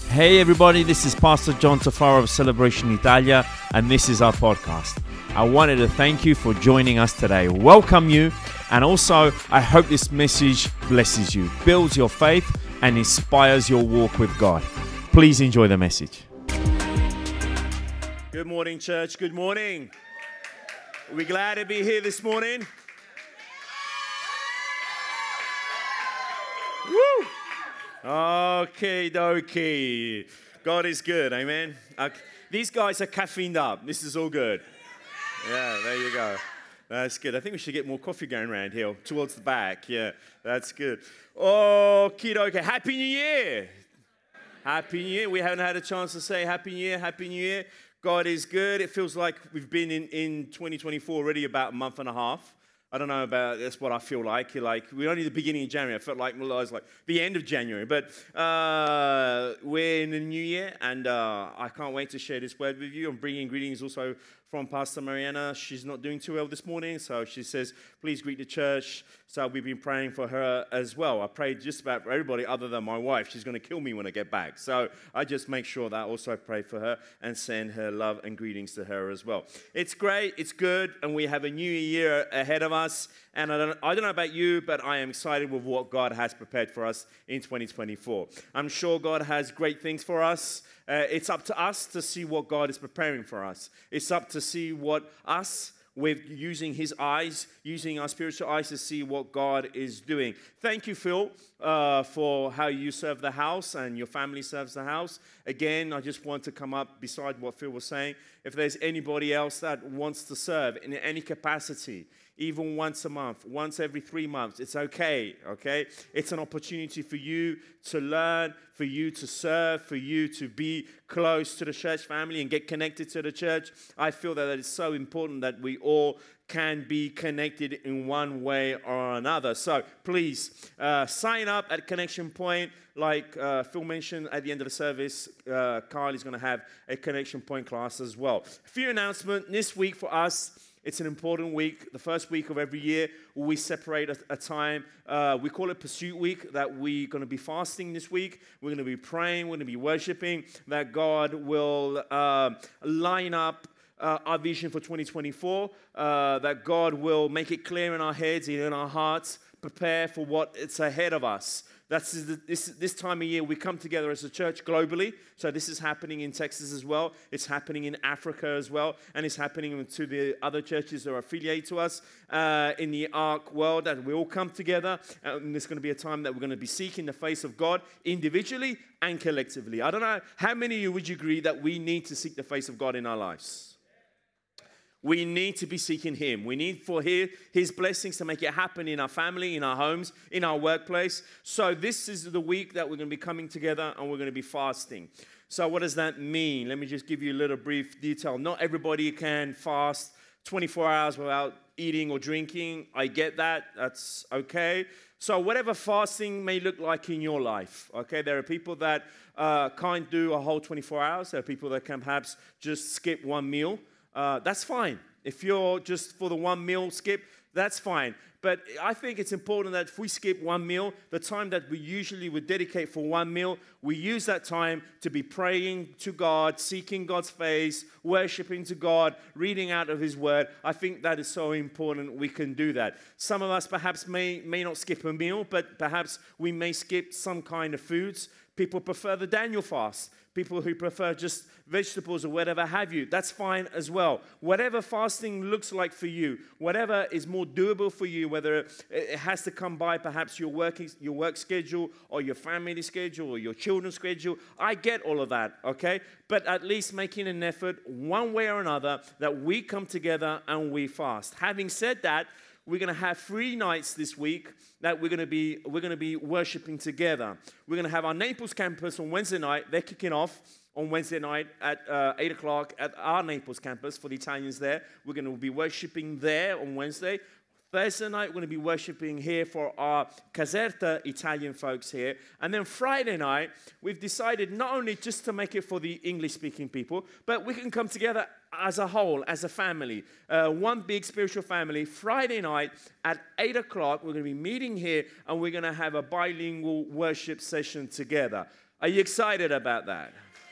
Hey everybody, this is Pastor John Tafaro of Celebration Italia, and this is our podcast. I wanted to thank you for joining us today, welcome you, and also I hope this message blesses you, builds your faith, and inspires your walk with God. Please enjoy the message. Good morning, church. Good morning. Are we glad to be here this morning? Woo! Okay, dokie. God is good, amen. These guys are caffeined up. This is all good. Yeah, there you go. That's good. I think we should get more coffee going around here towards the back. Yeah, that's good. Okay, dokie. Happy New Year. Happy New Year. We haven't had a chance to say Happy New Year. Happy New Year. God is good. It feels like we've been in 2024 already about a month and a half. I don't know about, that's what I feel like. We're only the beginning of January. I felt like it was like the end of January. But we're in the new year, and I can't wait to share this word with you. I'm bringing greetings also from Pastor Mariana. She's not doing too well this morning, so she says, please greet the church. So we've been praying for her as well. I prayed just about for everybody other than my wife. She's going to kill me when I get back. So I just make sure that I also pray for her and send her love and greetings to her as well. It's great, it's good, and we have a new year ahead of us. And I don't know about you, but I am excited with what God has prepared for us in 2024. I'm sure God has great things for us. It's up to us to see what God is preparing for us. It's up to see what us, with using his eyes, using our spiritual eyes to see what God is doing. Thank you, Phil, for how you serve the house and your family serves the house. Again, I just want to come up beside what Phil was saying. If there's anybody else that wants to serve in any capacity, even once a month, once every 3 months, it's okay? It's an opportunity for you to learn, for you to serve, for you to be close to the church family and get connected to the church. I feel that it's so important that we all can be connected in one way or another. So please sign up at Connection Point. Like Phil mentioned at the end of the service, Carl is going to have a Connection Point class as well. A few announcements this week for us. It's an important week, the first week of every year. We separate a time. We call it Pursuit Week, that we're going to be fasting this week. We're going to be praying. We're going to be worshiping, that God will line up our vision for 2024, that God will make it clear in our heads, in our hearts, prepare for what it's ahead of us. That's this time of year we come together as a church globally. So this is happening in Texas as well. It's happening in Africa as well. And it's happening to the other churches that are affiliated to us in the ARC world. That we all come together. And there's going to be a time that we're going to be seeking the face of God individually and collectively. I don't know, how many of you would you agree that we need to seek the face of God in our lives? We need to be seeking him. We need for his blessings to make it happen in our family, in our homes, in our workplace. So this is the week that we're going to be coming together and we're going to be fasting. So what does that mean? Let me just give you a little brief detail. Not everybody can fast 24 hours without eating or drinking. I get that. That's okay. So whatever fasting may look like in your life, okay? There are people that can't do a whole 24 hours. There are people that can perhaps just skip one meal. That's fine. If you're just for the one meal skip, that's fine. But I think it's important that if we skip one meal, the time that we usually would dedicate for one meal, we use that time to be praying to God, seeking God's face, worshiping to God, reading out of his word. I think that is so important we can do that. Some of us perhaps may not skip a meal, but perhaps we may skip some kind of foods. People prefer the Daniel fast. People who prefer just vegetables or whatever have you, that's fine as well. Whatever fasting looks like for you, whatever is more doable for you, whether it has to come by perhaps your work schedule or your family schedule or your children's schedule, I get all of that, okay? But at least making an effort one way or another that we come together and we fast. Having said that, we're going to have 3 nights this week that we're going to be worshiping together. We're going to have our Naples campus on Wednesday night. They're kicking off on Wednesday night at 8 o'clock at our Naples campus for the Italians there. We're going to be worshiping there on Wednesday. Thursday night, we're going to be worshiping here for our Caserta Italian folks here. And then Friday night, we've decided not only just to make it for the English-speaking people, but we can come together as a whole, as a family. One big spiritual family. Friday night at 8 o'clock, we're going to be meeting here, and we're going to have a bilingual worship session together. Are you excited about that?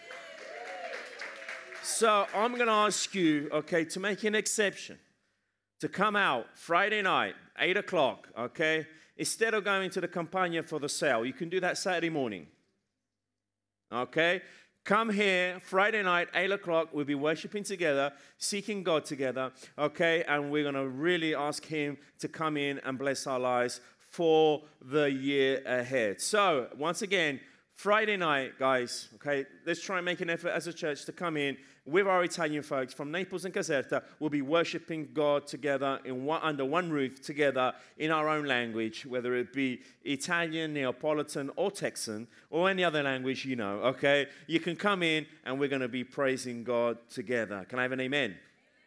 So I'm going to ask you, okay, to make an exception, to come out Friday night, 8 o'clock, okay? Instead of going to the Campagna for the sale, you can do that Saturday morning, okay? Come here Friday night, 8 o'clock. We'll be worshiping together, seeking God together, okay? And we're going to really ask Him to come in and bless our lives for the year ahead. So, once again, Friday night, guys, okay, let's try and make an effort as a church to come in with our Italian folks from Naples and Caserta. We'll be worshiping God together under one roof together in our own language, whether it be Italian, Neapolitan, or Texan, or any other language you know, okay? You can come in and we're going to be praising God together. Can I have an amen?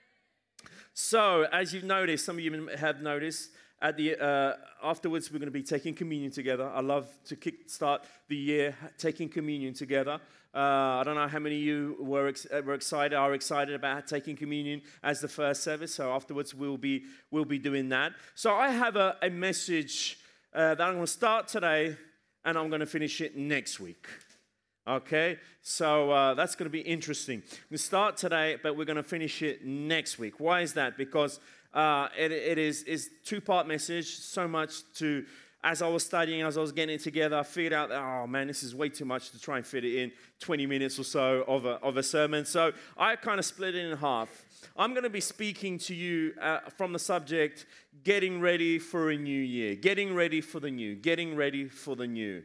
So, as you've noticed, some of you have noticed, at the afterwards, we're going to be taking communion together. I love to kickstart the year taking communion together. I don't know how many of you are excited about taking communion as the first service. So afterwards, we'll be doing that. So I have a message that I'm going to start today, and I'm going to finish it next week. Okay, so that's going to be interesting. We start today, but we're going to finish it next week. Why is that? Because it is two-part message. So much to, as I was studying, as I was getting it together, I figured out that, oh man, this is way too much to try and fit it in 20 minutes or so of a sermon. So I kind of split it in half. I'm going to be speaking to you from the subject, getting ready for a new year, getting ready for the new, getting ready for the new.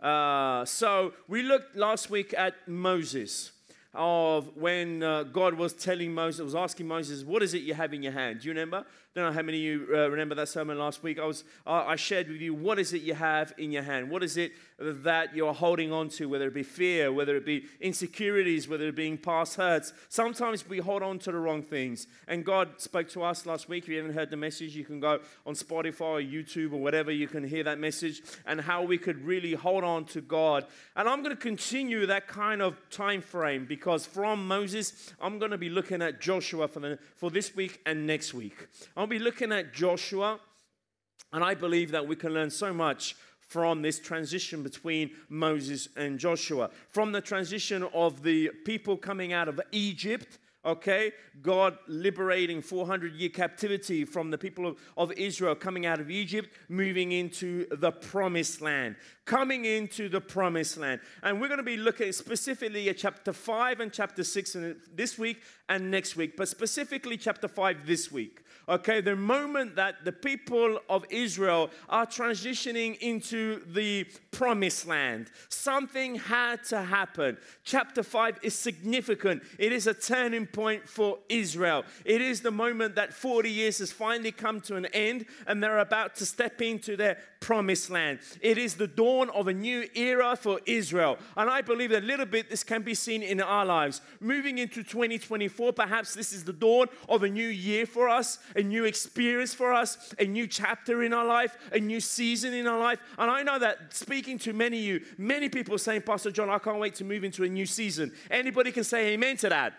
So we looked last week at Moses, of when God was telling Moses, was asking Moses, what is it you have in your hand? Do you remember? Don't know how many of you remember that sermon last week. I shared with you, what is it you have in your hand? What is it that you're holding on to, whether it be fear, whether it be insecurities, whether it be past hurts? Sometimes we hold on to the wrong things. And God spoke to us last week. If you haven't heard the message, you can go on Spotify or YouTube or whatever. You can hear that message and how we could really hold on to God. And I'm going to continue that kind of time frame because from Moses, I'm going to be looking at Joshua for this week and next week. I'll be looking at Joshua, and I believe that we can learn so much from this transition between Moses and Joshua. From the transition of the people coming out of Egypt, okay, God liberating 400-year captivity from the people of Israel coming out of Egypt, moving into the promised land. Coming into the promised land. And we're going to be looking specifically at chapter 5 and chapter 6 this week and next week, but specifically chapter 5 this week. Okay, the moment that the people of Israel are transitioning into the promised land, something had to happen. Chapter 5 is significant. It is a turning point for Israel. It is the moment that 40 years has finally come to an end and they're about to step into their promised land. It is the dawn of a new era for Israel. And I believe that a little bit this can be seen in our lives. Moving into 2024, perhaps this is the dawn of a new year for us, a new experience for us, a new chapter in our life, a new season in our life. And I know that speaking to many of you, many people are saying, Pastor John, I can't wait to move into a new season. Anybody can say amen to that?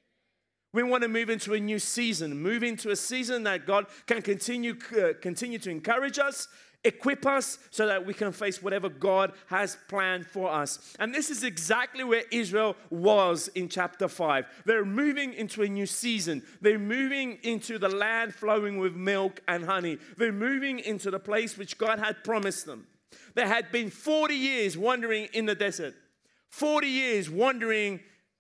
We want to move into a new season, move into a season that God can continue to encourage us, equip us so that we can face whatever God has planned for us. And this is exactly where Israel was in chapter 5. They're moving into a new season. They're moving into the land flowing with milk and honey. They're moving into the place which God had promised them. They had been 40 years wandering in the desert, 40 years wandering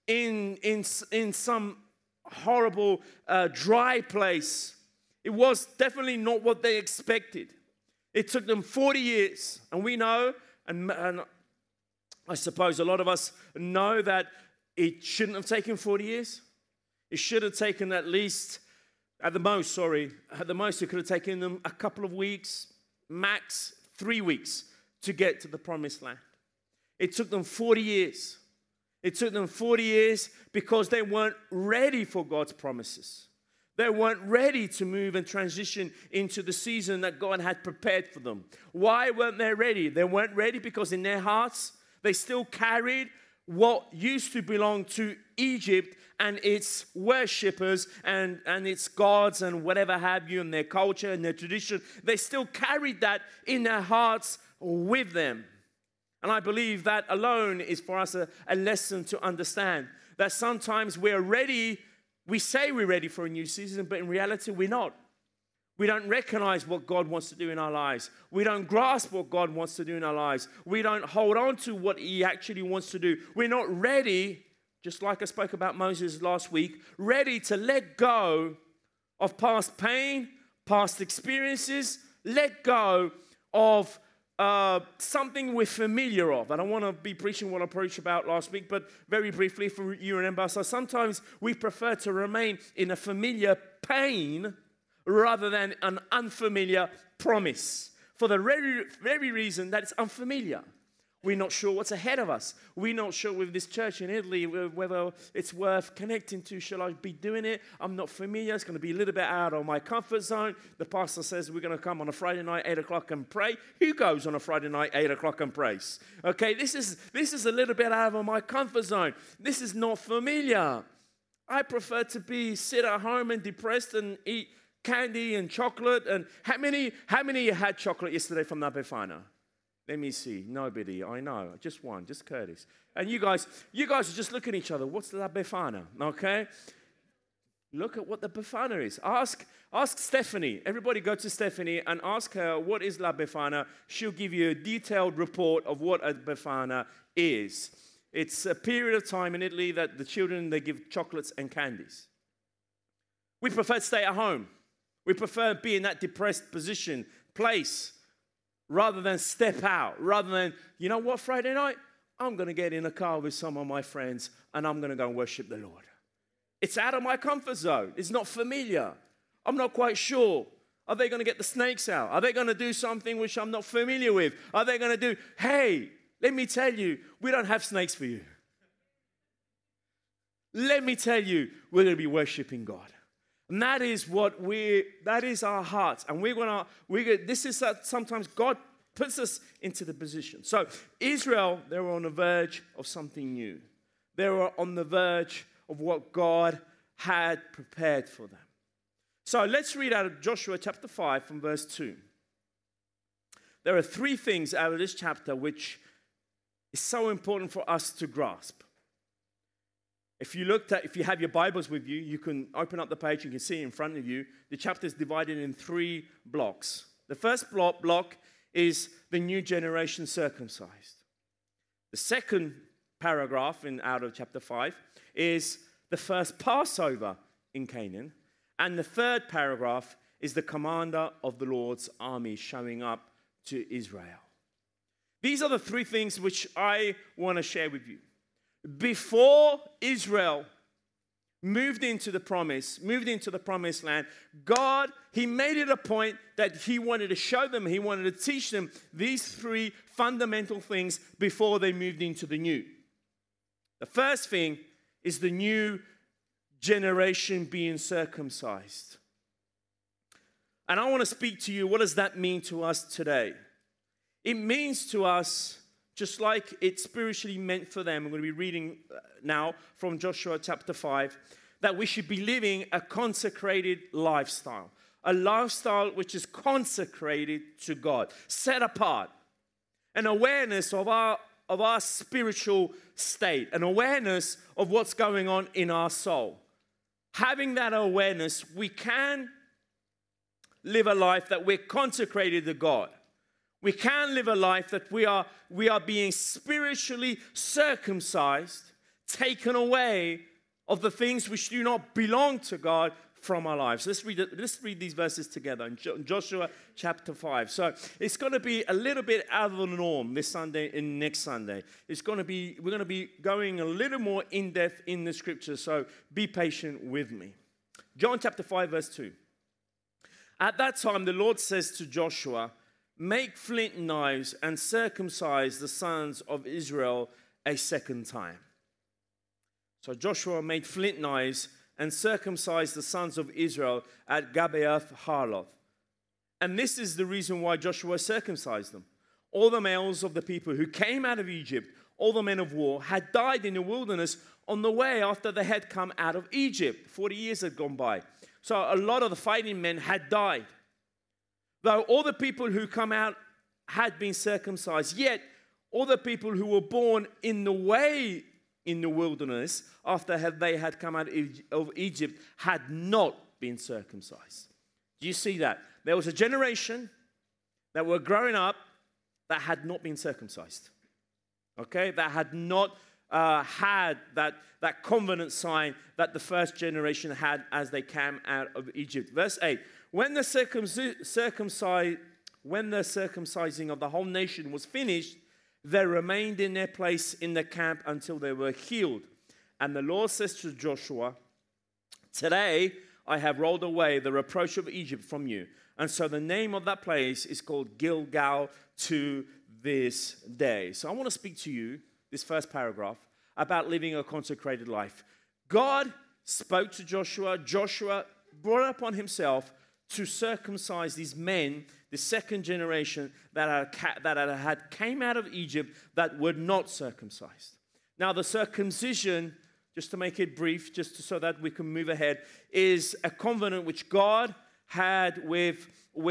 in some horrible dry place. It was definitely not what they expected. It took them 40 years, and we know, and I suppose a lot of us know that it shouldn't have taken 40 years. It should have taken at the most, it could have taken them a couple of weeks, max 3 weeks to get to the promised land. It took them 40 years. It took them 40 years because they weren't ready for God's promises. They weren't ready to move and transition into the season that God had prepared for them. Why weren't they ready? They weren't ready because in their hearts, they still carried what used to belong to Egypt and its worshippers and its gods and whatever have you, and their culture and their tradition. They still carried that in their hearts with them. And I believe that alone is for us a lesson to understand that sometimes we're ready, we say we're ready for a new season, but in reality we're not. We don't recognize what God wants to do in our lives. We don't grasp what God wants to do in our lives. We don't hold on to what He actually wants to do. We're not ready, just like I spoke about Moses last week, ready to let go of past pain, past experiences, let go of something we're familiar of. I don't want to be preaching what I preached about last week, but very briefly, if you remember, so sometimes we prefer to remain in a familiar pain rather than an unfamiliar promise, for the very reason that it's unfamiliar. We're not sure what's ahead of us. We're not sure with this church in Italy whether it's worth connecting to. Shall I be doing it? I'm not familiar. It's going to be a little bit out of my comfort zone. The pastor says we're going to come on a Friday night, 8 o'clock and pray. Who goes on a Friday night, 8 o'clock and prays? Okay, this is a little bit out of my comfort zone. This is not familiar. I prefer to sit at home and depressed and eat candy and chocolate. And how many of you had chocolate yesterday from La Befana? Let me see. Nobody. I know. Just one. Just Curtis. And you guys are just looking at each other. What's La Befana? Okay? Look at what the Befana is. Ask Stephanie. Everybody go to Stephanie and ask her what is La Befana. She'll give you a detailed report of what a Befana is. It's a period of time in Italy that the children, they give chocolates and candies. We prefer to stay at home. We prefer to be in that depressed place, rather than step out, rather than, you know what, Friday night, I'm going to get in a car with some of my friends and I'm going to go and worship the Lord. It's out of my comfort zone. It's not familiar. I'm not quite sure. Are they going to get the snakes out? Are they going to do something which I'm not familiar with? Are they going to do, hey, let me tell you, we don't have snakes for you. Let me tell you, we're going to be worshiping God. And that is our hearts. And this is sometimes God puts us into the position. So Israel, they were on the verge of something new. They were on the verge of what God had prepared for them. So let's read out of Joshua chapter 5 from verse 2. There are 3 things out of this chapter which is so important for us to grasp. If you have your Bibles with you, you can open up the page, you can see it in front of you. The chapter is divided in 3 blocks. The first block is the new generation circumcised. The second paragraph out of chapter 5 is the first Passover in Canaan. And the third paragraph is the commander of the Lord's army showing up to Israel. These are the 3 things which I want to share with you. Before Israel moved into the promised land, God, He made it a point that He wanted to show them, He wanted to teach them these 3 fundamental things before they moved into the new. The first thing is the new generation being circumcised. And I want to speak to you, what does that mean to us today? It means to us, just like it spiritually meant for them, I'm going to be reading now from Joshua chapter 5, that we should be living a consecrated lifestyle. A lifestyle which is consecrated to God, set apart. An awareness of our spiritual state, an awareness of what's going on in our soul. Having that awareness, we can live a life that we're consecrated to God. We can live a life that we are being spiritually circumcised, taken away of the things which do not belong to God from our lives. Let's read these verses together in Joshua chapter 5. So it's going to be a little bit out of the norm this Sunday and next Sunday. We're going to be going a little more in depth in the scriptures. So be patient with me. John chapter 5 verse 2. At that time the Lord says to Joshua, "Make flint knives and circumcise the sons of Israel a second time." So Joshua made flint knives and circumcised the sons of Israel at Gibeath Harloth. And this is the reason why Joshua circumcised them. All the males of the people who came out of Egypt, all the men of war, had died in the wilderness on the way after they had come out of Egypt. 40 years had gone by. So a lot of the fighting men had died. Though all the people who come out had been circumcised, yet all the people who were born in the way in the wilderness after they had come out of Egypt had not been circumcised. Do you see that? There was a generation that were growing up that had not been circumcised. Okay? That had not had that covenant sign that the first generation had as they came out of Egypt. Verse 8, when the circumcising of the whole nation was finished, they remained in their place in the camp until they were healed. And the Lord says to Joshua, today I have rolled away the reproach of Egypt from you. And so the name of that place is called Gilgal to this day. So I want to speak to you, this first paragraph, about living a consecrated life. God spoke to Joshua. Joshua brought upon himself to circumcise these men, the second generation that had came out of Egypt that were not circumcised. Now the circumcision, just to make it brief, so that we can move ahead, is a covenant which God had with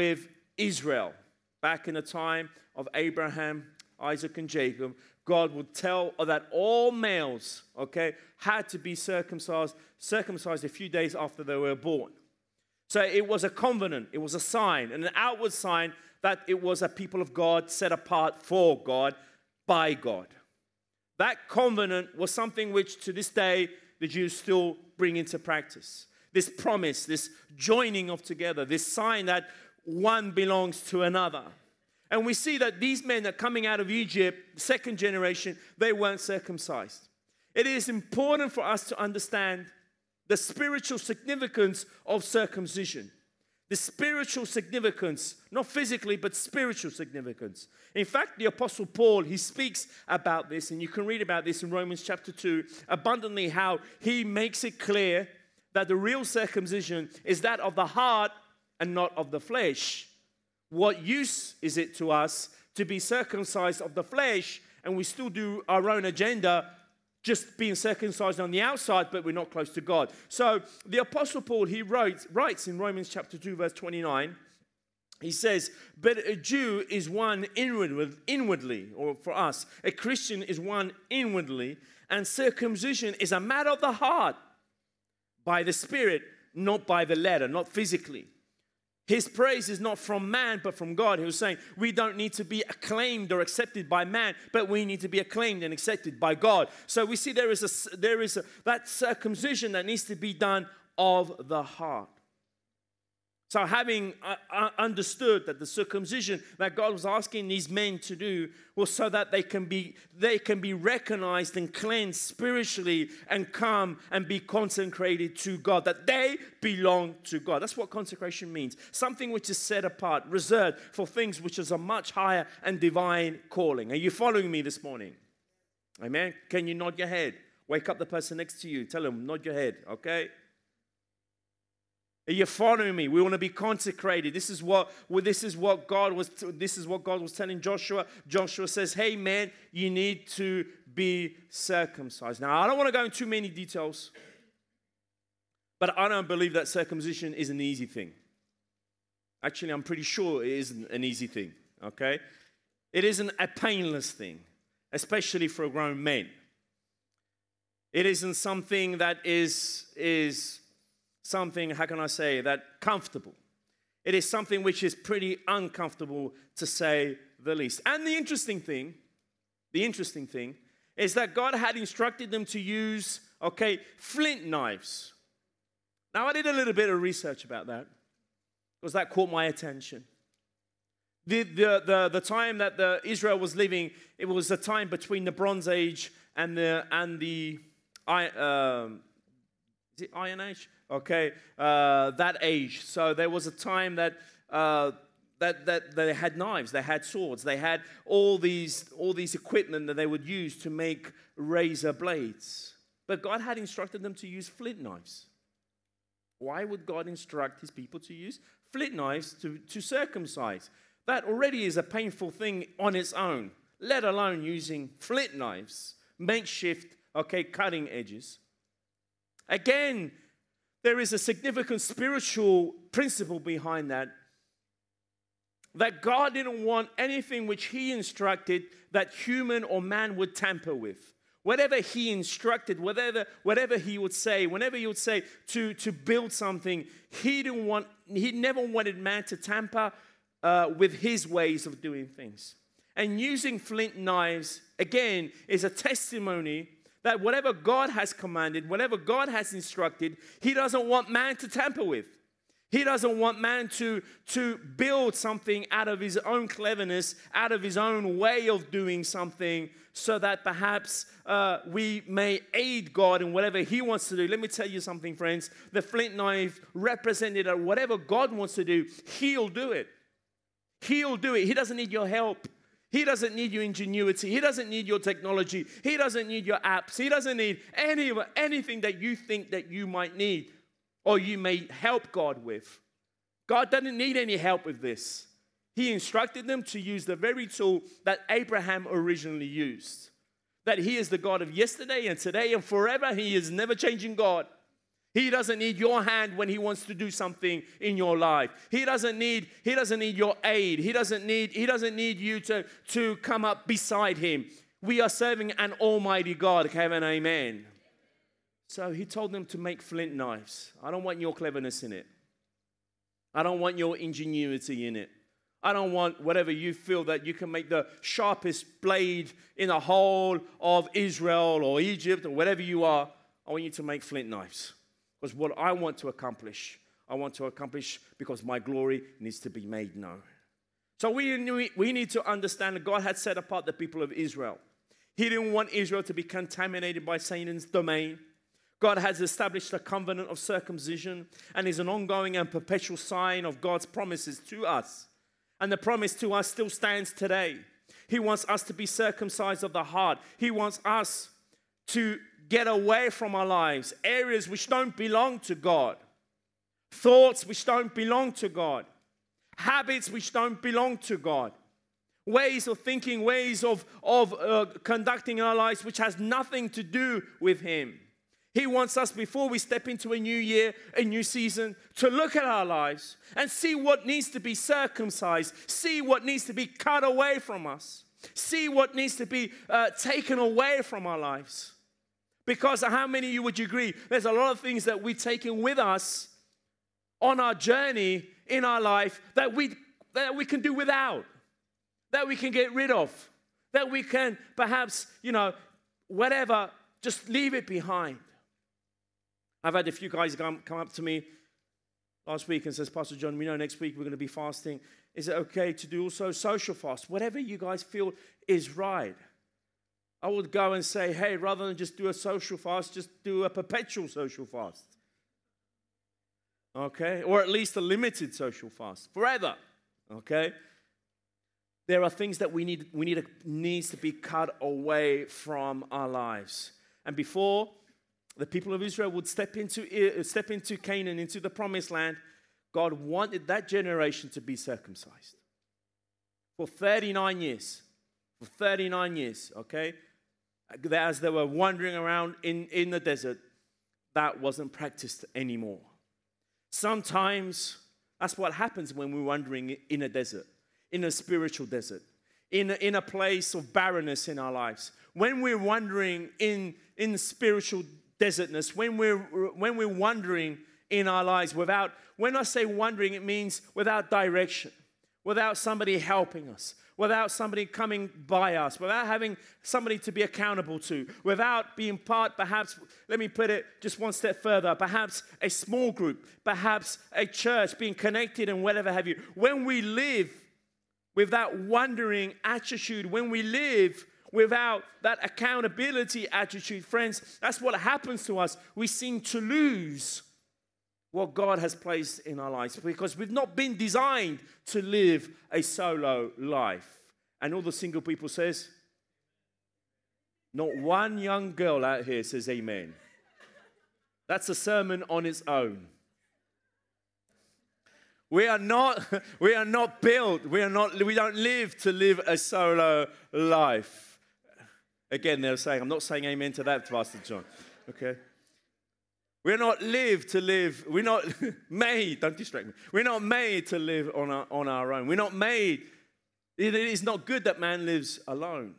Israel. Back in the time of Abraham, Isaac, and Jacob, God would tell that all males, had to be circumcised a few days after they were born. So it was a covenant, it was a sign, an outward sign that it was a people of God set apart for God, by God. That covenant was something which to this day the Jews still bring into practice. This promise, this joining of together, this sign that one belongs to another. And we see that these men that are coming out of Egypt, second generation, they weren't circumcised. It is important for us to understand the spiritual significance of circumcision. The spiritual significance, not physically, but spiritual significance. In fact, the Apostle Paul, he speaks about this, and you can read about this in Romans chapter 2, abundantly, how he makes it clear that the real circumcision is that of the heart and not of the flesh. What use is it to us to be circumcised of the flesh and we still do our own agenda, just being circumcised on the outside, but we're not close to God? So the Apostle Paul, he writes in Romans chapter 2, verse 29, he says, but a Jew is one inwardly, or for us, a Christian is one inwardly, and circumcision is a matter of the heart, by the Spirit, not by the letter, not physically. His praise is not from man, but from God. He was saying, we don't need to be acclaimed or accepted by man, but we need to be acclaimed and accepted by God. So we see there is that circumcision that needs to be done of the heart. So having understood that the circumcision that God was asking these men to do was so that they can be recognized and cleansed spiritually and come and be consecrated to God, that they belong to God. That's what consecration means. Something which is set apart, reserved for things which is a much higher and divine calling. Are you following me this morning? Amen? Can you nod your head? Wake up the person next to you. Tell them, nod your head, okay? Are you following me? We want to be consecrated. This is what God was telling Joshua. Joshua says, hey man, you need to be circumcised. Now, I don't want to go into too many details, but I don't believe that circumcision is an easy thing. Actually, I'm pretty sure it isn't an easy thing, okay? It isn't a painless thing, especially for grown men. It isn't something that is something, how can I say, that comfortable. It is something which is pretty uncomfortable, to say the least. And the interesting thing is that God had instructed them to use, flint knives. Now, I did a little bit of research about that, because that caught my attention. The time that Israel was living, it was a time between the Bronze Age and the Iron Age? That age. So there was a time that they had knives, they had swords, they had all these equipment that they would use to make razor blades. But God had instructed them to use flint knives. Why would God instruct his people to use flint knives to circumcise? That already is a painful thing on its own, let alone using flint knives, makeshift, cutting edges. Again, there is a significant spiritual principle behind that. that God didn't want anything which he instructed that human or man would tamper with. Whatever he instructed, whatever he would say, whenever he would say to build something, he never wanted man to tamper with his ways of doing things. And using flint knives, again, is a testimony that whatever God has commanded, whatever God has instructed, he doesn't want man to tamper with. He doesn't want man to build something out of his own cleverness, out of his own way of doing something, so that perhaps we may aid God in whatever he wants to do. Let me tell you something, friends. The flint knife represented that whatever God wants to do, he'll do it. He'll do it. He doesn't need your help. He doesn't need your ingenuity. He doesn't need your technology. He doesn't need your apps. He doesn't need anything that you think that you might need or you may help God with. God doesn't need any help with this. He instructed them to use the very tool that Abraham originally used. That he is the God of yesterday and today and forever. He is never changing God. He doesn't need your hand when he wants to do something in your life. He doesn't need your aid. He doesn't need you to come up beside him. We are serving an almighty God. Have an amen. So he told them to make flint knives. I don't want your cleverness in it. I don't want your ingenuity in it. I don't want whatever you feel that you can make the sharpest blade in the whole of Israel or Egypt or whatever you are. I want you to make flint knives. Because what I want to accomplish because my glory needs to be made known. So we need to understand that God had set apart the people of Israel. He didn't want Israel to be contaminated by Satan's domain. God has established a covenant of circumcision and is an ongoing and perpetual sign of God's promises to us. And the promise to us still stands today. He wants us to be circumcised of the heart. He wants us to get away from our lives, areas which don't belong to God, thoughts which don't belong to God, habits which don't belong to God, ways of thinking, ways of conducting our lives which has nothing to do with him. He wants us, before we step into a new year, a new season, to look at our lives and see what needs to be circumcised, see what needs to be cut away from us, see what needs to be taken away from our lives. Because how many of you would you agree? There's a lot of things that we're taking with us on our journey in our life that we can do without, that we can get rid of, that we can perhaps, whatever, just leave it behind. I've had a few guys come up to me last week and says, Pastor John, we know next week we're going to be fasting. Is it okay to do also social fast? Whatever you guys feel is right. I would go and say, hey, rather than just do a social fast, just do a perpetual social fast. Okay? Or at least a limited social fast. Forever. Okay? There are things that needs to be cut away from our lives. And before the people of Israel would step into Canaan, into the promised land, God wanted that generation to be circumcised. For 39 years. For 39 years, okay? As they were wandering around in the desert, that wasn't practiced anymore. Sometimes that's what happens when we're wandering in a desert, in a spiritual desert, in a place of barrenness in our lives. When we're wandering in spiritual desertness, when we're wandering in our lives without, when I say wandering, it means without direction, without somebody helping us, without somebody coming by us, without having somebody to be accountable to, without being part, perhaps, let me put it just one step further, perhaps a small group, perhaps a church, being connected and whatever have you. When we live with that wandering attitude, when we live without that accountability attitude, friends, that's what happens to us. We seem to lose what God has placed in our lives because we've not been designed to live a solo life. And all the single people says, not one young girl out here says amen. That's a sermon on its own. We are not built, we don't live to live a solo life. Again, they're saying, I'm not saying amen to that, Pastor John. Okay. We're not live to live. We're not made, don't distract me. We're not made to live on our own. We're not made. It is not good that man lives alone.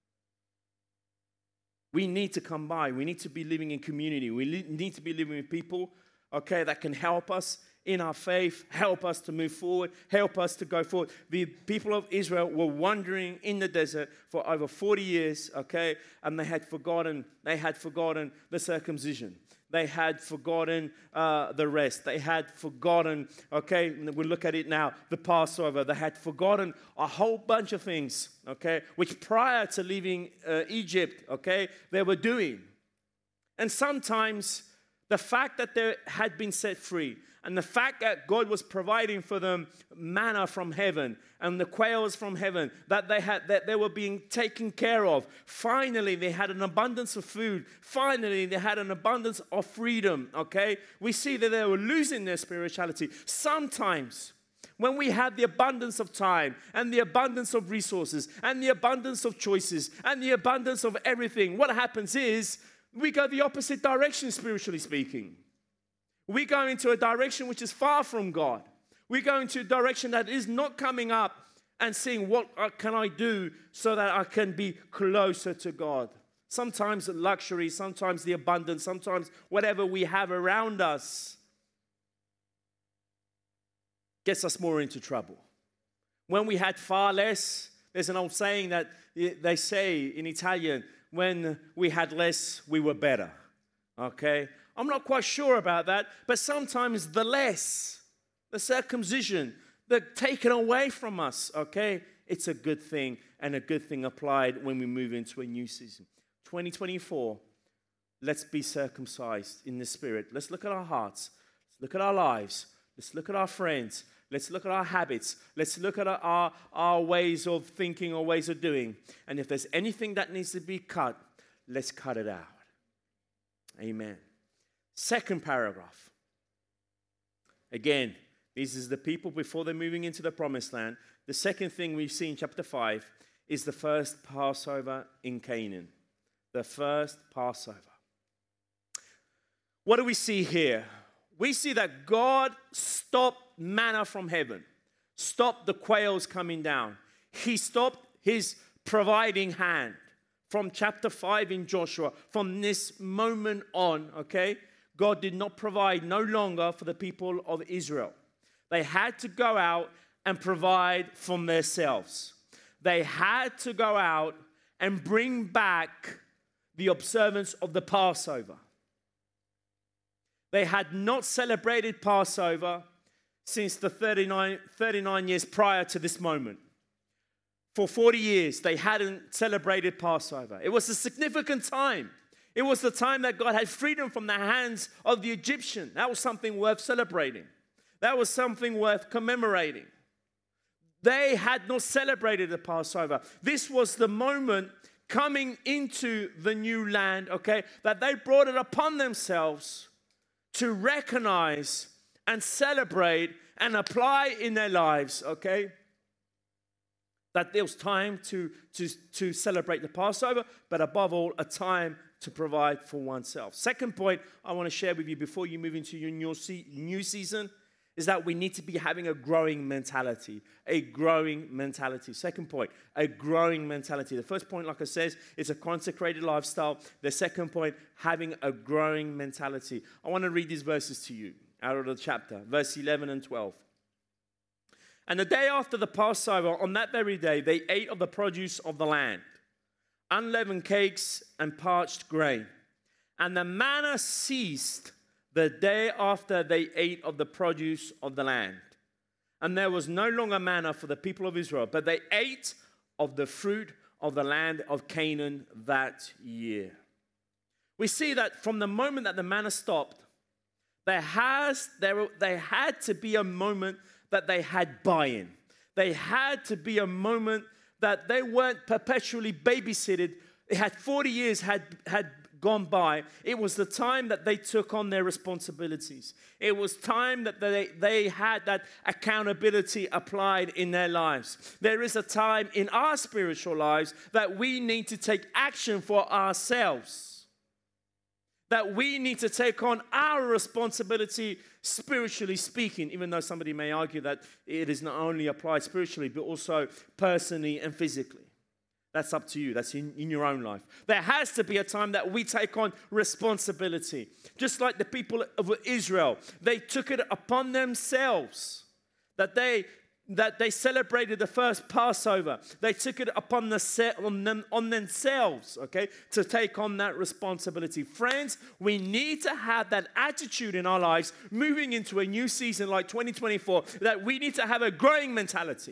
We need to come by. We need to be living in community. We need to be living with people, okay, that can help us in our faith, help us to move forward, help us to go forward. The people of Israel were wandering in the desert for over 40 years, okay, and they had forgotten the circumcision. They had forgotten the rest. They had forgotten, okay, we look at it now, the Passover. They had forgotten a whole bunch of things, okay, which prior to leaving Egypt, okay, they were doing. And sometimes the fact that they had been set free and the fact that God was providing for them manna from heaven and the quails from heaven, that they were being taken care of. Finally, they had an abundance of food. Finally, they had an abundance of freedom, okay? We see that they were losing their spirituality. Sometimes, when we have the abundance of time and the abundance of resources and the abundance of choices and the abundance of everything, what happens is we go the opposite direction, spiritually speaking. We go into a direction which is far from God. We go into a direction that is not coming up and seeing what can I do so that I can be closer to God. Sometimes the luxury, sometimes the abundance, sometimes whatever we have around us gets us more into trouble. When we had far less, there's an old saying that they say in Italian, when we had less, we were better. Okay? I'm not quite sure about that, but sometimes the less, the circumcision, the taken away from us, okay? It's a good thing, and a good thing applied when we move into a new season. 2024, let's be circumcised in the spirit. Let's look at our hearts. Let's look at our lives. Let's look at our friends. Let's look at our habits. Let's look at our ways of thinking or ways of doing. And if there's anything that needs to be cut, let's cut it out. Amen. Second paragraph. Again, this is the people before they're moving into the promised land. The second thing we see in chapter 5 is the first Passover in Canaan. The first Passover. What do we see here? We see that God stopped manna from heaven, stopped the quails coming down. He stopped his providing hand from chapter 5 in Joshua. From this moment on, okay, God did not provide no longer for the people of Israel. They had to go out and provide from themselves. They had to go out and bring back the observance of the Passover. They had not celebrated Passover since the 39 years prior to this moment. For 40 years, they hadn't celebrated Passover. It was a significant time. It was the time that God had freedom from the hands of the Egyptian. That was something worth celebrating. That was something worth commemorating. They had not celebrated the Passover. This was the moment coming into the new land, okay, that they brought it upon themselves to recognize and celebrate and apply in their lives, okay? That there was time to celebrate the Passover, but above all, a time to provide for oneself. Second point I want to share with you before you move into your new season is that we need to be having a growing mentality. A growing mentality. Second point, a growing mentality. The first point, like I said, is a consecrated lifestyle. The second point, having a growing mentality. I want to read these verses to you out of the chapter, verse 11 and 12. And the day after the Passover, on that very day, they ate of the produce of the land, unleavened cakes and parched grain. And the manna ceased the day after they ate of the produce of the land. And there was no longer manna for the people of Israel, but they ate of the fruit of the land of Canaan that year. We see that from the moment that the manna stopped, there had to be a moment that they had buy-in. They had to be a moment that they weren't perpetually babysitted. It had 40 years had gone by. It was the time that they took on their responsibilities. It was time that they had that accountability applied in their lives. There is a time in our spiritual lives that we need to take action for ourselves. that we need to take on our responsibility, spiritually speaking, even though somebody may argue that it is not only applied spiritually, but also personally and physically. That's up to you. That's in your own life. There has to be a time that we take on responsibility. Just like the people of Israel, they took it upon themselves that they celebrated the first Passover. They took it upon themselves, okay, to take on that responsibility. Friends, we need to have that attitude in our lives moving into a new season like 2024, that we need to have a growing mentality.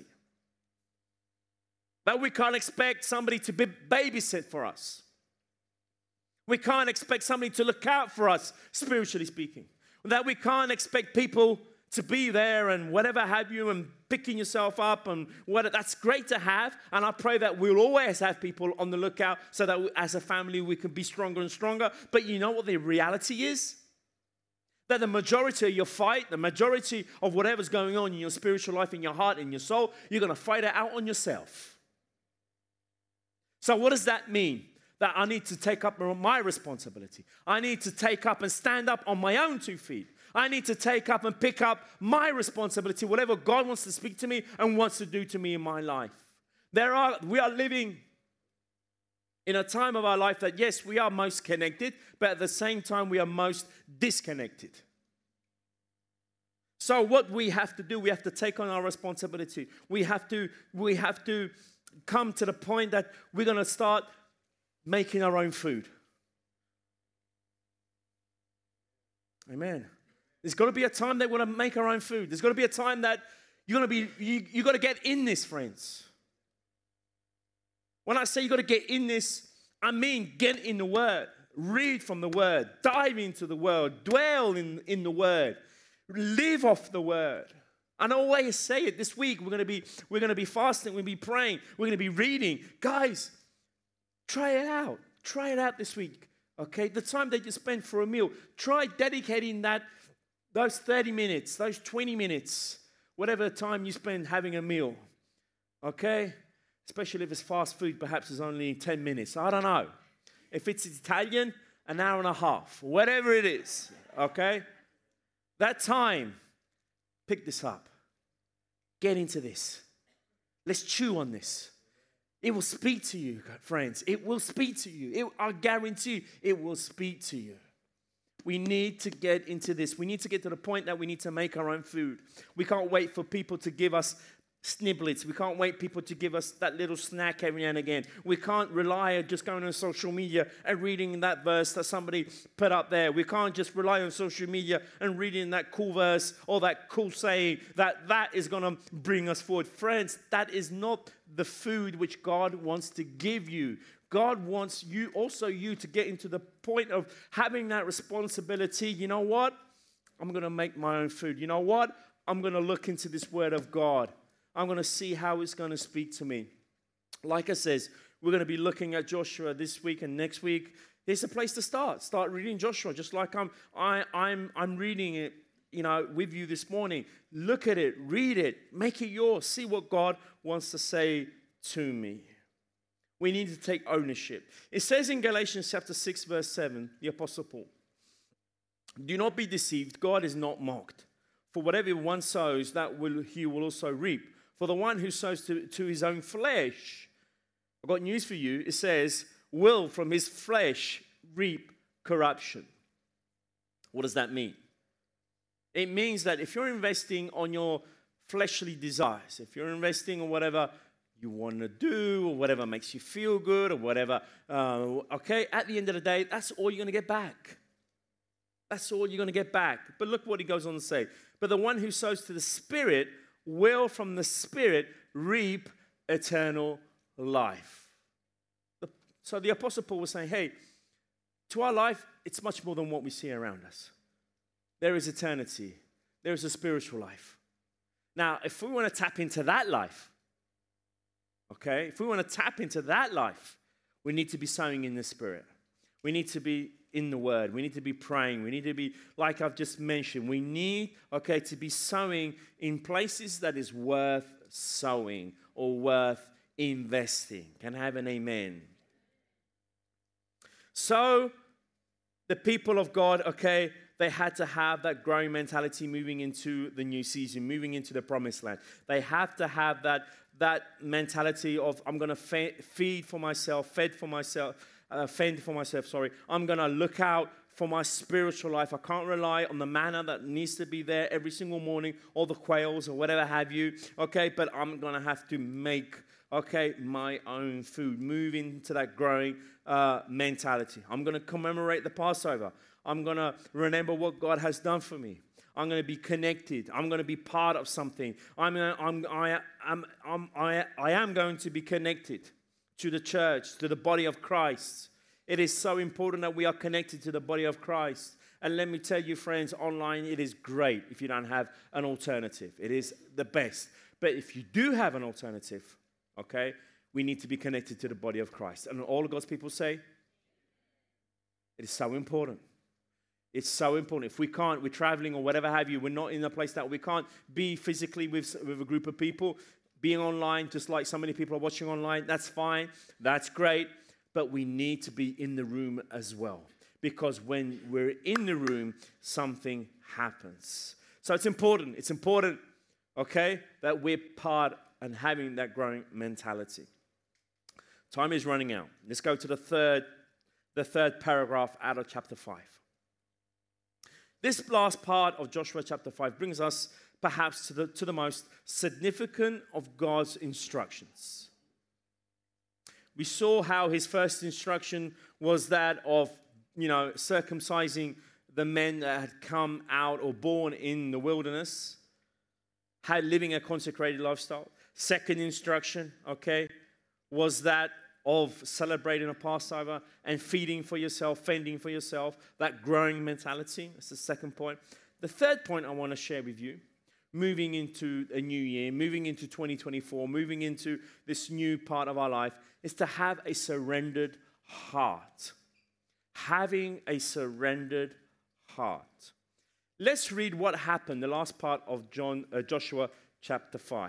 That we can't expect somebody to babysit for us. We can't expect somebody to look out for us, spiritually speaking. That we can't expect people to be there and whatever have you and picking yourself up and what. That's great to have. And I pray that we'll always have people on the lookout so that as a family we can be stronger and stronger. But you know what the reality is? That the majority of your fight, the majority of whatever's going on in your spiritual life, in your heart, in your soul, you're going to fight it out on yourself. So what does that mean? That I need to take up my responsibility. I need to take up and stand up on my own 2 feet. I need to take up and pick up my responsibility, whatever God wants to speak to me and wants to do to me in my life. We are living in a time of our life that, yes, we are most connected, but at the same time, we are most disconnected. So what we have to do, we have to take on our responsibility. We have to come to the point that we're going to start making our own food. Amen. There's got to be a time that we're going to make our own food. There's got to be a time that you're going to be, you got to get in this, friends. When I say you got to get in this, I mean get in the Word. Read from the Word. Dive into the Word. Dwell in the Word. Live off the Word. And I always say it. This week we're going to be fasting. We're going to be praying. We're going to be reading. Guys, try it out. Try it out this week. Okay? The time that you spend for a meal, try dedicating those 30 minutes, those 20 minutes, whatever time you spend having a meal. Okay? Especially if it's fast food, perhaps it's only 10 minutes. I don't know. If it's Italian, an hour and a half. Whatever it is. Okay? That time, pick this up. Get into this. Let's chew on this. It will speak to you, friends. It will speak to you. I guarantee you, it will speak to you. We need to get into this. We need to get to the point that we need to make our own food. We can't wait for people to give us sniblets. We can't wait people to give us that little snack every now and again. We can't rely on just going on social media and reading that verse that somebody put up there. We can't just rely on social media and reading that cool verse or that cool saying that is going to bring us forward. Friends, that is not the food which God wants to give you. God wants you to get into the point of having that responsibility. You know what? I'm going to make my own food. You know what? I'm going to look into this Word of God. I'm going to see how it's going to speak to me. Like I says, we're going to be looking at Joshua this week and next week. There's a place to start. Start reading Joshua, just like I'm reading it, with you this morning. Look at it, read it, make it yours. See what God wants to say to me. We need to take ownership. It says in Galatians chapter 6, verse 7, the Apostle Paul, "Do not be deceived. God is not mocked. For whatever one sows, he will also reap. For the one who sows to his own flesh," I've got news for you, it says, "will from his flesh reap corruption." What does that mean? It means that if you're investing on your fleshly desires, if you're investing on whatever you want to do or whatever makes you feel good or whatever, at the end of the day, that's all you're going to get back. That's all you're going to get back. But look what he goes on to say. "But the one who sows to the Spirit will from the Spirit reap eternal life." So the Apostle Paul was saying, hey, to our life, it's much more than what we see around us. There is eternity. There is a spiritual life. Now, if we want to tap into that life, if we want to tap into that life, we need to be sowing in the Spirit. We need to be in the Word. We need to be praying. We need to be, like I've just mentioned, we need, to be sowing in places that is worth sowing or worth investing. Can I have an amen? So, The people of God, okay, they had to have that growing mentality moving into the new season, moving into the promised land. They have to have that mentality of, I'm going to fend for myself, sorry. I'm going to look out for my spiritual life. I can't rely on the manna that needs to be there every single morning, or the quails, or whatever have you, okay? But I'm going to have to make, okay, my own food, move into that growing mentality. I'm going to commemorate the Passover. I'm going to remember what God has done for me. I'm going to be connected. I'm going to be part of something. I am going to be connected to the church, to the body of Christ. It is so important that we are connected to the body of Christ. And let me tell you, friends, online, it is great if you don't have an alternative. It is the best. But if you do have an alternative, okay, we need to be connected to the body of Christ. And all of God's people say, it is so important. It's so important. If we can't, we're traveling or whatever have you, we're not in a place that we can't be physically with a group of people, being online, just like so many people are watching online, that's fine, that's great, but we need to be in the room as well. Because when we're in the room, something happens. So it's important, okay, that we're part and having that growing mentality. Time is running out. Let's go to the third paragraph out of chapter 5. This last part of Joshua chapter 5 brings us perhaps to the most significant of God's instructions. We saw how his first instruction was that of, circumcising the men that had come out or born in the wilderness, living a consecrated lifestyle. Second instruction, okay, was that of celebrating a Passover and feeding for yourself, fending for yourself, that growing mentality. That's the second point. The third point I want to share with you, moving into a new year, moving into 2024, moving into this new part of our life, is to have a surrendered heart. Having a surrendered heart. Let's read what happened, the last part of Joshua chapter 5.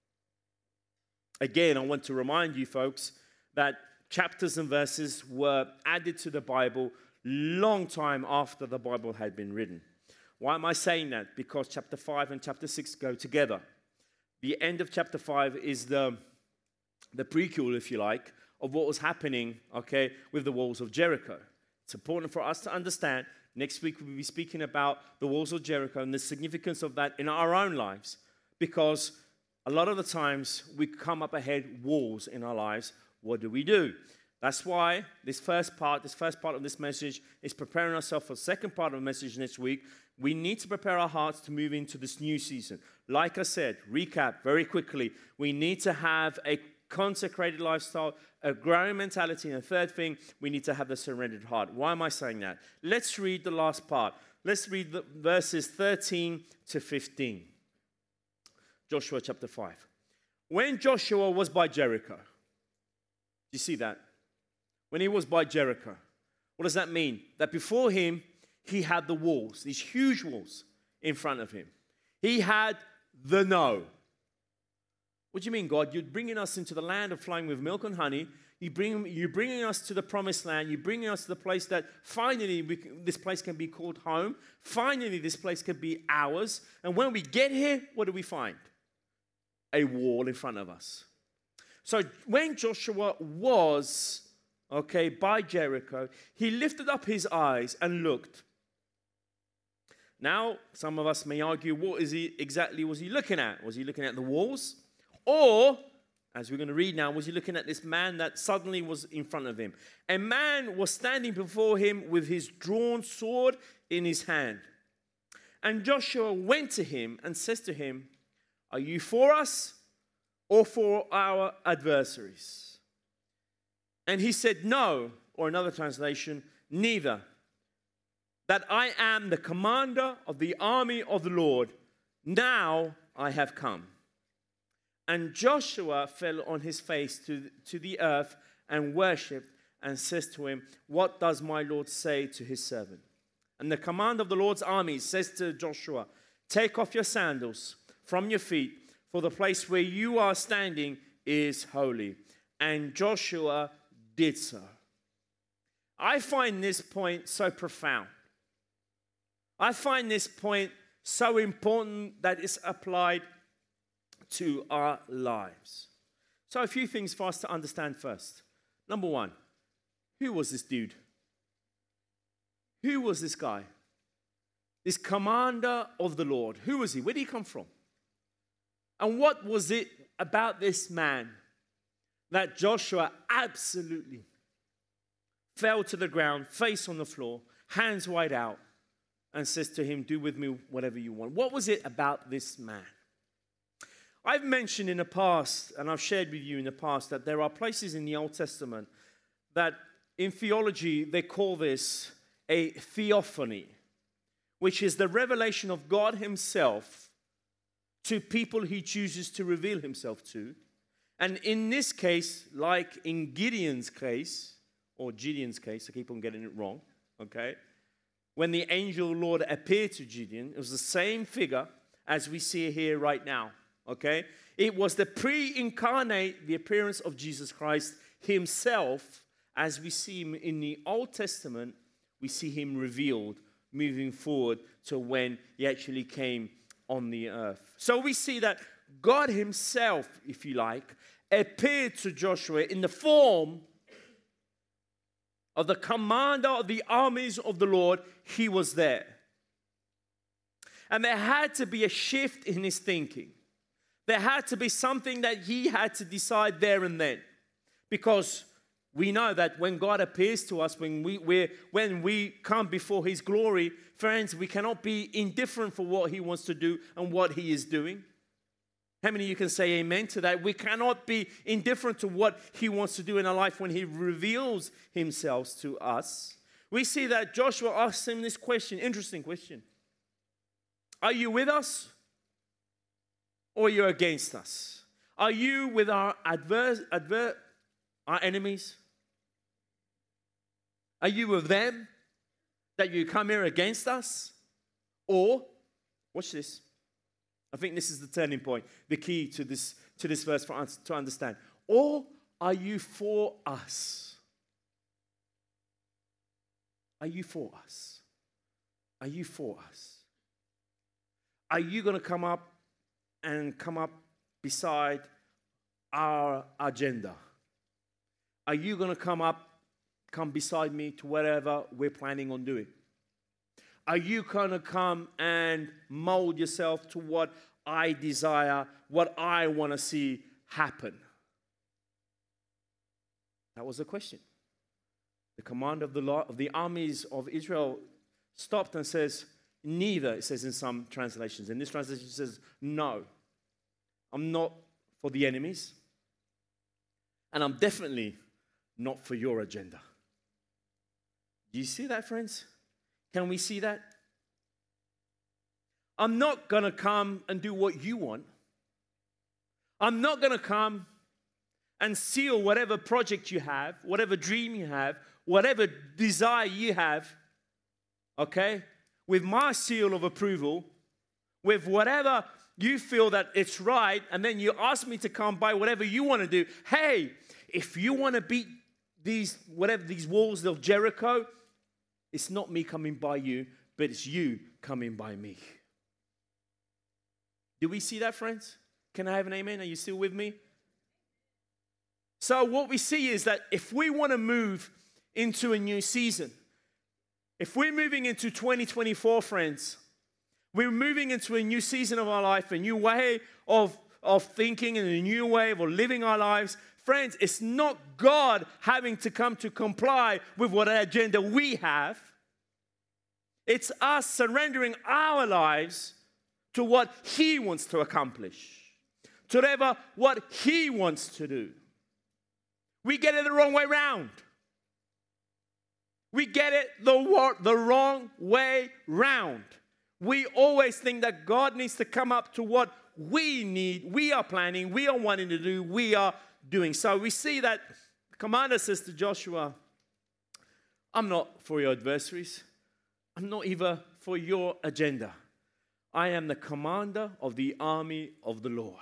Again, I want to remind you folks that chapters and verses were added to the Bible long time after the Bible had been written. Why am I saying that? Because chapter 5 and chapter 6 go together. The end of chapter 5 is the prequel, if you like, of what was happening, okay, with the walls of Jericho. It's important for us to understand. Next week we'll be speaking about the walls of Jericho and the significance of that in our own lives. Because a lot of the times we come up ahead walls in our lives. What do? That's why this first part of this message is preparing ourselves for the second part of the message next week. We need to prepare our hearts to move into this new season. Like I said, recap very quickly. We need to have a consecrated lifestyle, a growing mentality, and the third thing, we need to have the surrendered heart. Why am I saying that? Let's read the last part. Let's read the verses 13 to 15. Joshua chapter 5. When Joshua was by Jericho, you see that? When he was by Jericho, what does that mean? That before him, he had the walls, these huge walls in front of him. He had the no. What do you mean, God? You're bringing us into the land of flowing with milk and honey. You're bringing us to the promised land. You're bringing us to the place that finally this place can be called home. Finally, this place can be ours. And when we get here, what do we find? A wall in front of us. So when Joshua was, by Jericho, he lifted up his eyes and looked. Now, some of us may argue, what was he looking at? Was he looking at the walls? Or, as we're going to read now, was he looking at this man that suddenly was in front of him? A man was standing before him with his drawn sword in his hand. And Joshua went to him and says to him, "Are you for us or for our adversaries?" And he said, "No," or another translation, "neither. That I am the commander of the army of the Lord. Now I have come." And Joshua fell on his face to the earth and worshipped and says to him, "What does my Lord say to his servant?" And the commander of the Lord's army says to Joshua, "Take off your sandals from your feet, for the place where you are standing is holy." And Joshua did so. I find this point so profound. I find this point so important that it's applied to our lives. So a few things for us to understand first. Number one, who was this dude? Who was this guy? This commander of the Lord. Who was he? Where did he come from? And what was it about this man that Joshua absolutely fell to the ground, face on the floor, hands wide out, and says to him, do with me whatever you want? What was it about this man? I've mentioned in the past, and I've shared with you in the past, that there are places in the Old Testament that in theology they call this a theophany, which is the revelation of God himself to people he chooses to reveal himself to. And in this case, like in Gideon's case, or Gideon's case, I keep on getting it wrong, okay? When the angel Lord appeared to Gideon, it was the same figure as we see here right now, okay? It was the pre-incarnate, the appearance of Jesus Christ himself. As we see him in the Old Testament, we see him revealed moving forward to when he actually came on the earth. So we see that God himself, if you like, appeared to Joshua in the form of the commander of the armies of the Lord. He was there. And there had to be a shift in his thinking. There had to be something that he had to decide there and then. Because we know that when God appears to us, when we come before his glory, friends, we cannot be indifferent for what he wants to do and what he is doing. How many of you can say amen to that? We cannot be indifferent to what he wants to do in our life when he reveals himself to us. We see that Joshua asked him this question, interesting question. Are you with us or are you against us? Are you with our our enemies? Are you with them that you come here against us? Or, watch this. I think this is the turning point, the key to this verse for us to understand. Or are you for us? Are you for us? Are you for us? Are you going to come up beside our agenda? Are you going to come beside me to whatever we're planning on doing? Are you going to come and mold yourself to what I desire, what I want to see happen? That was the question. The commander of the armies of Israel stopped and says, neither, it says in some translations. In this translation it says, no, I'm not for the enemies, and I'm definitely not for your agenda. Do you see that, friends? Can we see that? I'm not going to come and do what you want. I'm not going to come and seal whatever project you have, whatever dream you have, whatever desire you have, okay, with my seal of approval, with whatever you feel that it's right, and then you ask me to come by whatever you want to do. Hey, if you want to beat these walls of Jericho, it's not me coming by you, but it's you coming by me. Do we see that, friends? Can I have an amen? Are you still with me? So what we see is that if we want to move into a new season, if we're moving into 2024, friends, we're moving into a new season of our life, a new way of thinking and a new way of living our lives. Friends, it's not God having to come to comply with what agenda we have. It's us surrendering our lives to what He wants to accomplish, to whatever what He wants to do. We get it the wrong way round. We get it the wrong way round. We always think that God needs to come up to what we need, we are planning, we are wanting to do, we are doing. So we see that the commander says to Joshua, I'm not for your adversaries. I'm not even for your agenda. I am the commander of the army of the Lord.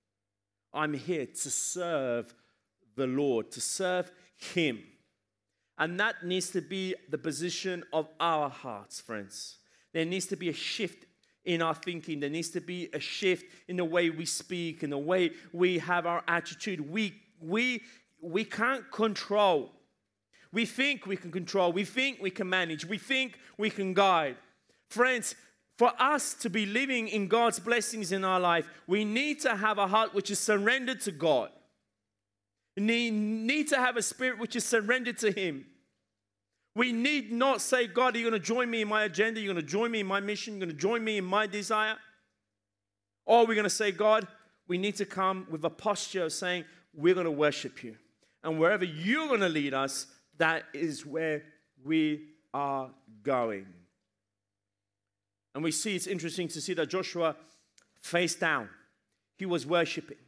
I'm here to serve the Lord, to serve Him. And that needs to be the position of our hearts, friends. There needs to be a shift in our thinking. There needs to be a shift in the way we speak, in the way we have our attitude. We can't control. We think we can control. We think we can manage. We think we can guide. Friends, for us to be living in God's blessings in our life, we need to have a heart which is surrendered to God. We need to have a spirit which is surrendered to Him. We need not say, God, are you going to join me in my agenda? You're going to join me in my mission? You're going to join me in my desire? Or we're going to say, God, we need to come with a posture of saying, we're going to worship you. And wherever you're going to lead us, that is where we are going. And we see, it's interesting to see that Joshua face down. He was worshiping.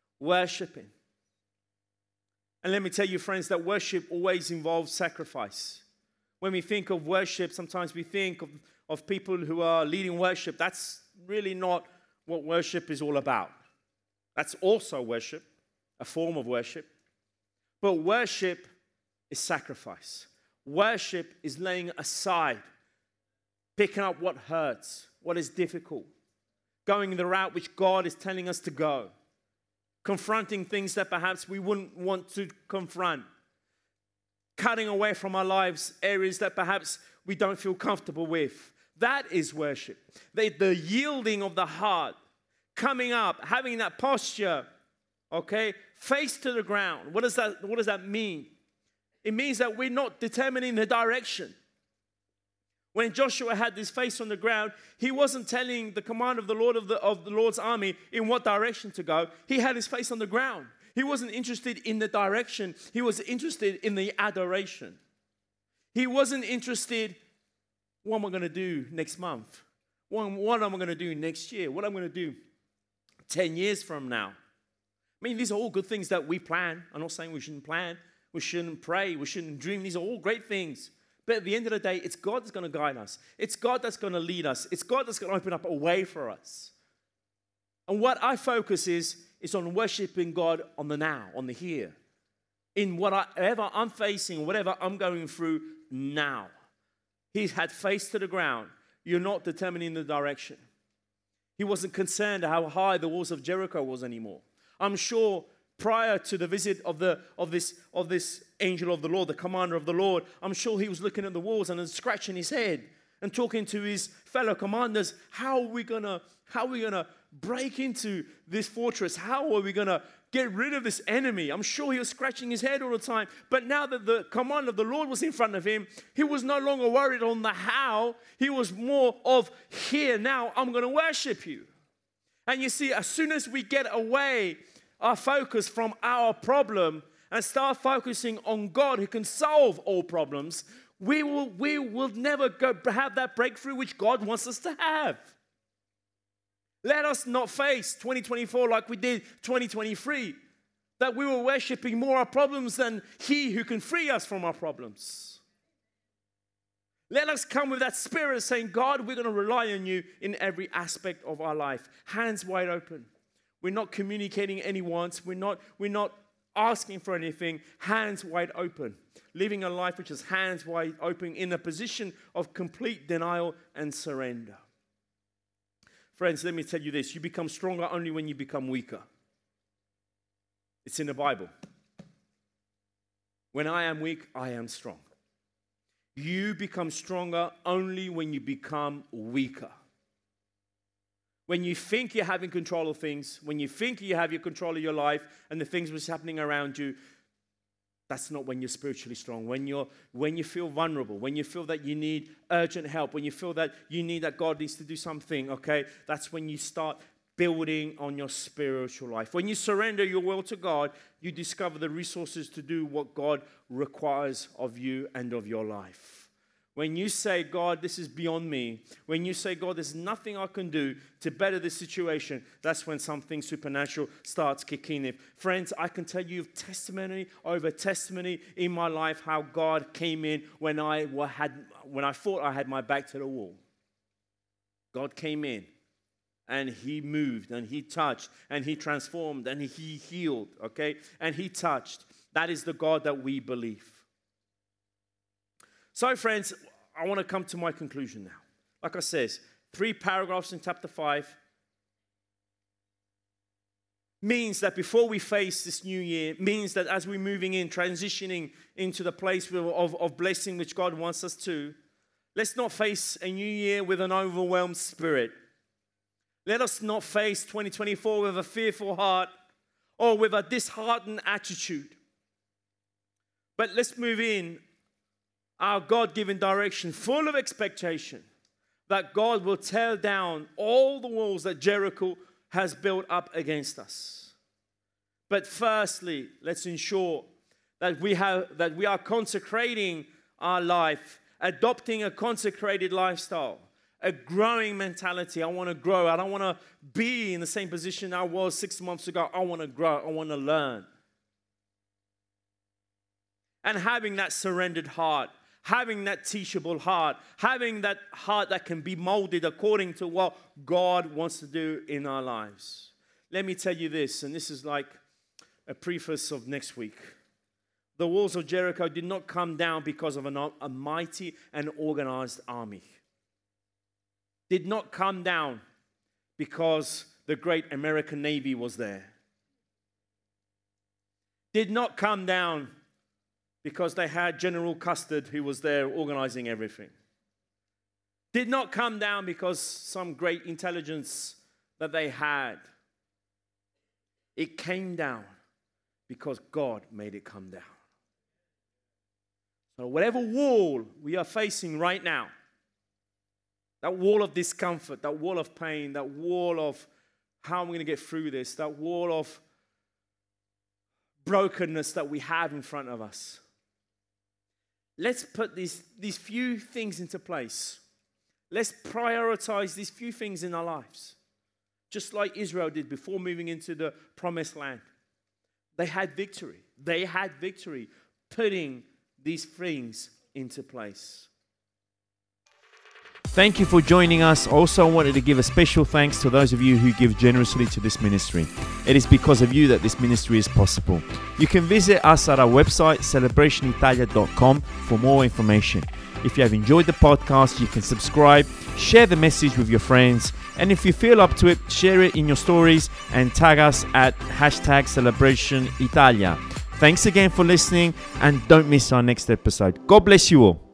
And let me tell you, friends, that worship always involves sacrifice. When we think of worship, sometimes we think of people who are leading worship. That's really not what worship is all about. That's also worship, a form of worship. But worship is sacrifice. Worship is laying aside, picking up what hurts, what is difficult, going the route which God is telling us to go, confronting things that perhaps we wouldn't want to confront, cutting away from our lives areas that perhaps we don't feel comfortable with. That is worship. The yielding of the heart, coming up, having that posture, okay, face to the ground. What does that mean? It means that we're not determining the direction. When Joshua had his face on the ground, he wasn't telling the command of the Lord of the Lord's army in what direction to go. He had his face on the ground. He wasn't interested in the direction. He was interested in the adoration. He wasn't interested, what am I going to do next month? What am I going to do next year? What am I going to do 10 years from now? I mean, these are all good things that we plan. I'm not saying we shouldn't plan. We shouldn't pray. We shouldn't dream. These are all great things. But at the end of the day, it's God that's going to guide us. It's God that's going to lead us. It's God that's going to open up a way for us. And what I focus is on worshiping God on the now, on the here. In whatever I'm facing, whatever I'm going through now. He's had face to the ground. You're not determining the direction. He wasn't concerned how high the walls of Jericho was anymore. I'm sure prior to the visit of this angel of the Lord, the commander of the Lord, I'm sure he was looking at the walls and scratching his head and talking to his fellow commanders. How are we gonna break into this fortress? How are we gonna get rid of this enemy? I'm sure he was scratching his head all the time. But now that the command of the Lord was in front of him, he was no longer worried on the how. He was more of here. Now I'm going to worship you. And you see, as soon as we get away our focus from our problem and start focusing on God who can solve all problems, we will never have that breakthrough which God wants us to have. Let us not face 2024 like we did 2023, that we were worshiping more our problems than He who can free us from our problems. Let us come with that spirit of saying, God, we're going to rely on you in every aspect of our life. Hands wide open. We're not communicating any wants. We're not asking for anything. Hands wide open. Living a life which is hands wide open in a position of complete denial and surrender. Friends, let me tell you this. You become stronger only when you become weaker. It's in the Bible. When I am weak, I am strong. You become stronger only when you become weaker. When you think you're having control of things, when you think you have your control of your life and the things which are happening around you, that's not when you're spiritually strong. When you feel vulnerable, when you feel that you need urgent help, when you feel that you need that God needs to do something, okay, that's when you start building on your spiritual life. When you surrender your will to God, you discover the resources to do what God requires of you and of your life. When you say, God, this is beyond me, when you say, God, there's nothing I can do to better this situation, that's when something supernatural starts kicking in. Friends, I can tell you testimony over testimony in my life how God came in when I thought I had my back to the wall. God came in and He moved and He touched and He transformed and He healed, okay? And He touched. That is the God that we believe. So, friends, I want to come to my conclusion now. Like I said, 3 paragraphs in chapter 5 means that before we face this new year, means that as we're moving in, transitioning into the place of blessing which God wants us to, let's not face a new year with an overwhelmed spirit. Let us not face 2024 with a fearful heart or with a disheartened attitude. But let's move in our God-given direction, full of expectation that God will tear down all the walls that Jericho has built up against us. But firstly, let's ensure that we are consecrating our life, adopting a consecrated lifestyle, a growing mentality. I want to grow. I don't want to be in the same position I was 6 months ago. I want to grow. I want to learn. And having that surrendered heart, having that teachable heart, having that heart that can be molded according to what God wants to do in our lives. Let me tell you this, and this is like a preface of next week. The walls of Jericho did not come down because of a mighty and organized army. Did not come down because the great American Navy was there. Did not come down because they had General Custer who was there organizing everything. Did not come down because some great intelligence that they had. It came down because God made it come down. So whatever wall we are facing right now, that wall of discomfort, that wall of pain, that wall of how I'm going to get through this, that wall of brokenness that we have in front of us. Let's put these few things into place. Let's prioritize these few things in our lives. Just like Israel did before moving into the promised land. They had victory. They had victory putting these things into place. Thank you for joining us. Also, I wanted to give a special thanks to those of you who give generously to this ministry. It is because of you that this ministry is possible. You can visit us at our website, celebrationitalia.com, for more information. If you have enjoyed the podcast, you can subscribe, share the message with your friends, and if you feel up to it, share it in your stories and tag us at #CelebrationItalia. Thanks again for listening, and don't miss our next episode. God bless you all.